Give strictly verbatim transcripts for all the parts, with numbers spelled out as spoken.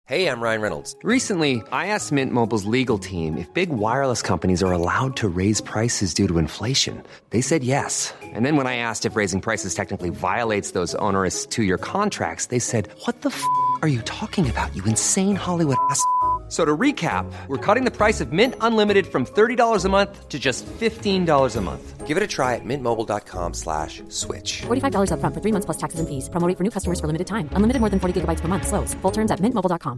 Hey, I'm Ryan Reynolds. Recently, I asked Mint Mobile's legal team if big wireless companies are allowed to raise prices due to inflation. They said yes. And then when I asked if raising prices technically violates those onerous two-year contracts, they said, what the f*** are you talking about, you insane Hollywood ass f- So to recap, we're cutting the price of Mint Unlimited from thirty dollars a month to just fifteen dollars a month. Give it a try at mintmobile.com slash switch. forty-five dollars up front for three months plus taxes and fees. Promo rate for new customers for limited time. Unlimited more than forty gigabytes per month. Slows full terms at mint mobile dot com.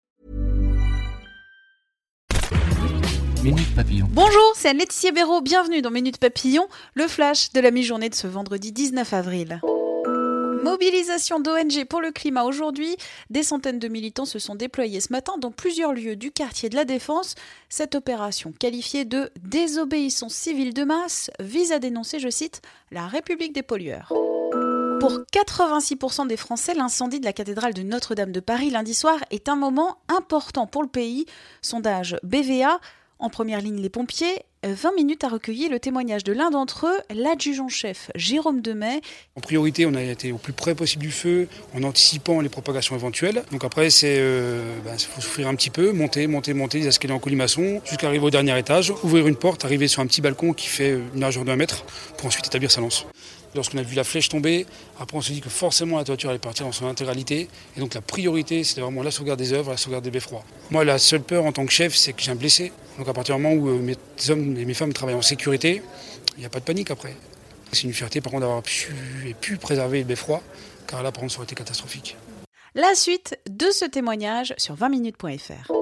Minute Papillon. Bonjour, c'est Anne-Laetitia Béraud. Bienvenue dans Minute Papillon, le flash de la mi-journée de ce vendredi dix-neuf avril. Mobilisation d'O N G pour le climat aujourd'hui. Des centaines de militants se sont déployés ce matin dans plusieurs lieux du quartier de la Défense. Cette opération, qualifiée de désobéissance civile de masse, vise à dénoncer, je cite, la République des pollueurs. Pour quatre-vingt-six pour cent des Français, l'incendie de la cathédrale de Notre-Dame de Paris lundi soir est un moment important pour le pays. Sondage B V A. En première ligne, les pompiers. vingt minutes a recueilli le témoignage de l'un d'entre eux, l'adjudant-chef Jérôme Demey. En priorité, on a été au plus près possible du feu, en anticipant les propagations éventuelles. Donc après, c'est euh, bah, faut souffrir un petit peu, monter, monter, monter les escaliers en colimaçon, jusqu'à arriver au dernier étage, ouvrir une porte, arriver sur un petit balcon qui fait une largeur d'un mètre, pour ensuite établir sa lance. Lorsqu'on a vu la flèche tomber, après on s'est dit que forcément la toiture allait partir dans son intégralité. Et donc la priorité, c'était vraiment la sauvegarde des œuvres, la sauvegarde des beffrois. Moi, la seule peur en tant que chef, c'est que j'ai un blessé. Donc à partir du moment où mes hommes et mes femmes travaillent en sécurité, il n'y a pas de panique après. C'est une fierté par contre d'avoir pu, et pu préserver le beffroi, car là par contre ça aurait été catastrophique. La suite de ce témoignage sur vingt minutes point f r.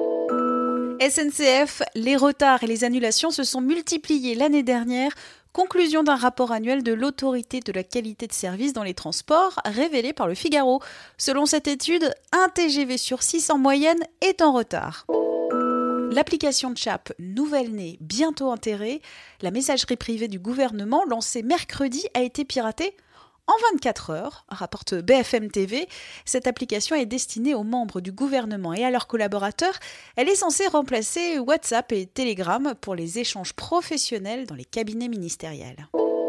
S N C F, les retards et les annulations se sont multipliés l'année dernière. Conclusion d'un rapport annuel de l'autorité de la qualité de service dans les transports révélé par le Figaro. Selon cette étude, un T G V sur six en moyenne est en retard. L'application de Chap, nouvelle-née, bientôt enterrée, la messagerie privée du gouvernement lancée mercredi a été piratée en vingt-quatre heures, rapporte B F M T V. Cette application est destinée aux membres du gouvernement et à leurs collaborateurs. Elle est censée remplacer WhatsApp et Telegram pour les échanges professionnels dans les cabinets ministériels.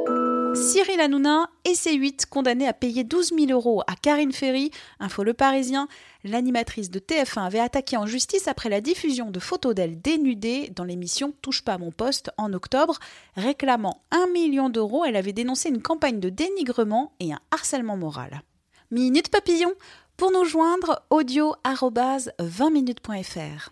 Cyril Hanouna et C huit condamnés à payer douze mille euros à Karine Ferry, info Le Parisien. L'animatrice de T F un avait attaqué en justice après la diffusion de photos d'elle dénudée dans l'émission Touche pas à mon poste en octobre. Réclamant un million d'euros, elle avait dénoncé une campagne de dénigrement et un harcèlement moral. Minute Papillon, pour nous joindre, audio arobase vingt minutes point f r.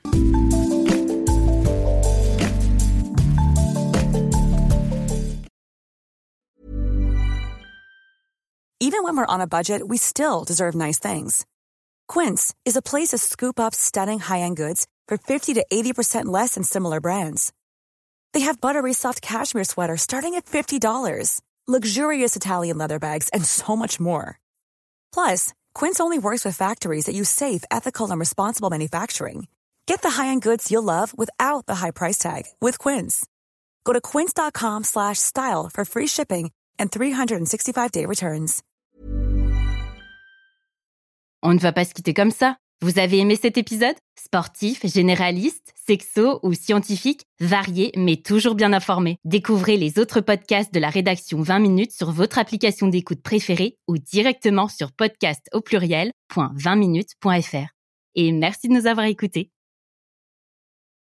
Even when we're on a budget, we still deserve nice things. Quince is a place to scoop up stunning high-end goods for fifty to eighty percent less than similar brands. They have buttery soft cashmere sweaters starting at fifty dollars, luxurious Italian leather bags, and so much more. Plus, Quince only works with factories that use safe, ethical, and responsible manufacturing. Get the high-end goods you'll love without the high price tag with Quince. Go to quince.com slash style for free shipping and three sixty-five day returns. On ne va pas se quitter comme ça. Vous avez aimé cet épisode ? Sportif, généraliste, sexo ou scientifique, varié mais toujours bien informé. Découvrez les autres podcasts de la rédaction vingt minutes sur votre application d'écoute préférée ou directement sur podcast au pluriel point vingt minutes point f r. Et merci de nous avoir écoutés.